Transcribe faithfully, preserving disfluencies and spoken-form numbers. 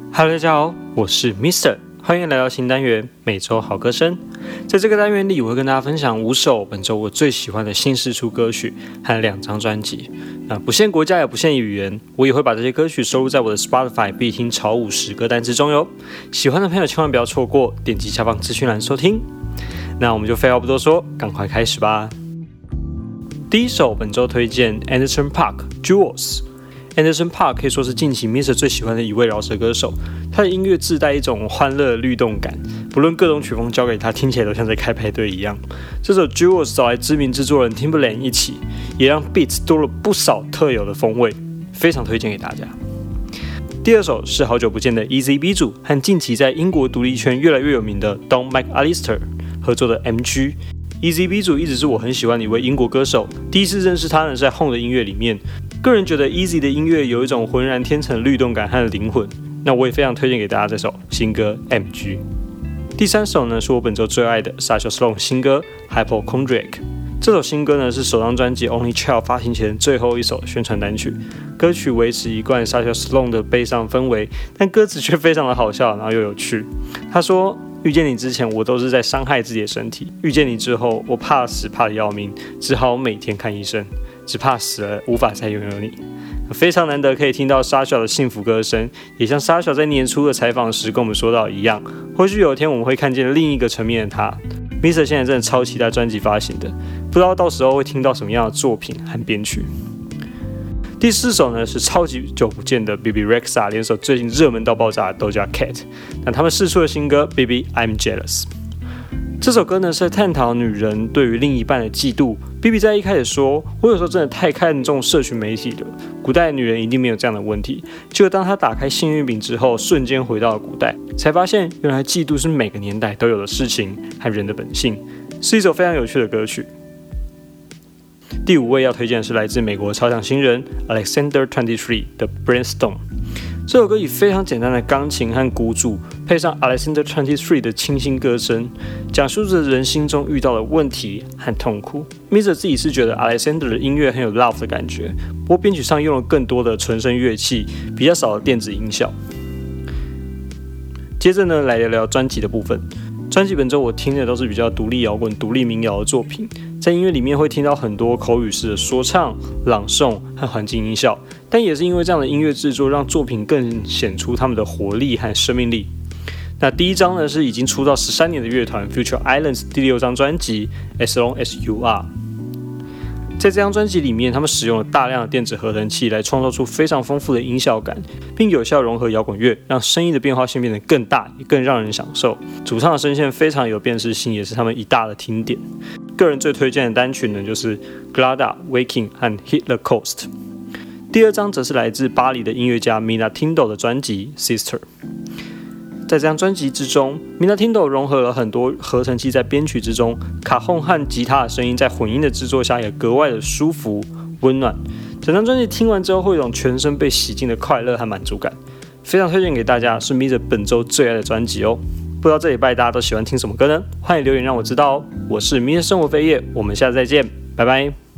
Hello， 大家好，我是 Mister， 欢迎来到新单元每周好歌声。在这个单元里，我会跟大家分享五首本周我最喜欢的新释出歌曲和两张专辑。那不限国家也不限语言，我也会把这些歌曲收录在我的 Spotify 必听潮五十歌单之中哟。喜欢的朋友千万不要错过，点击下方资讯栏收听。那我们就废话不多说，赶快开始吧。第一首本周推荐 Anderson .Paak Jewels。Anderson .Paak 可以说是近期 Mister 最喜欢的一位饶舌歌手，他的音乐自带一种欢乐律动感，不论各种曲风交给他，听起来都像在开派对一样。这首 Jewels 找来知名制作人 Timbaland 一起，也让 Beats 多了不少特有的风味，非常推荐给大家。第二首是好久不见的 Eazy B 组和近期在英国独立圈越来越有名的 Don McAllister 合作的 M G。Eazy B 组一直是我很喜欢的一位英国歌手，第一次认识他呢是在 Home 的音乐里面。个人觉得 Eazy 的音乐有一种浑然天成的律动感和灵魂，那我也非常推荐给大家这首新歌 M G。 第三首呢是我本周最爱的 Sasha Sloan 新歌 Hypochondriac。 这首新歌呢是首张专辑 Only Child 发行前最后一首宣传单曲，歌曲维持一贯 Sasha Sloan 的悲伤氛围，但歌词却非常的好笑然后又有趣。他说，遇见你之前我都是在伤害自己的身体，遇见你之后我怕死怕得要命，只好每天看医生，只怕死了无法再拥有你。非常难得可以听到 Sasha 的幸福歌声，也像 Sasha 在年初的采访时跟我们说到一样，或许有一天我们会看见另一个层面的他。 Mister 现在真的超期待专辑发行的，不知道到时候会听到什么样的作品和编曲。第四首呢是超级久不见的 Bebe Rexha 联手最近热门到爆炸的 Doja Cat， 那他们释出的新歌 Baby I'm Jealous。 这首歌呢是在探讨女人对于另一半的嫉妒。 Bebe 在一开始说，我有时候真的太看重社群媒体了，古代的女人一定没有这样的问题。结果当她打开幸运饼之后，瞬间回到了古代，才发现原来嫉妒是每个年代都有的事情和人的本性，是一首非常有趣的歌曲。第五位要推荐的是来自美国超强新人 Alexander 二十三的 Brainstorm。 这首歌以非常简单的钢琴和鼓组，配上 Alexander 二十三的清新歌声，讲述着人心中遇到的问题和痛苦。Mister 自己是觉得 Alexander 的音乐很有 love 的感觉，不过编曲上用了更多的纯声乐器，比较少的电子音效。接着呢，来聊聊专辑的部分。专辑本周我听的都是比较独立摇滚、独立民谣的作品，在音乐里面会听到很多口语式的说唱、朗诵和环境音效，但也是因为这样的音乐制作，让作品更显出他们的活力和生命力。那第一张呢是已经出道十三年的乐团 Future Islands 第六张专辑 As Long As You Are。 在这张专辑里面，他们使用了大量的电子合成器来创造出非常丰富的音效感，并有效融合摇滚乐，让声音的变化性变得更大，也更让人享受。主唱的声线非常有辨识性，也是他们一大的听点。个人最推荐的单曲呢就是 Glada、Waking 和 Hit the Coast。 第二张则是来自巴黎的音乐家 Minatinto 的专辑 Sister。 在这张专辑之中， Minatinto 融合了很多合成器在编曲之中，卡洪和吉他的声音在混音的制作下也格外的舒服温暖。整张专辑听完之后会有一种全身被洗净的快乐和满足感，非常推荐给大家，是 Mister 本周最爱的专辑哦。不知道这礼拜大家都喜欢听什么歌呢？欢迎留言让我知道哦。我是 Mister 生活飞叶，我们下次再见，拜拜。